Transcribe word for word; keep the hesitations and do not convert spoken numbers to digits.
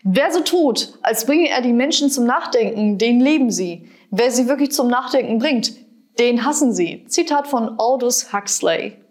Wer so tut, als bringe er die Menschen zum Nachdenken, den leben sie. Wer sie wirklich zum Nachdenken bringt, den hassen sie. Zitat von Aldous Huxley.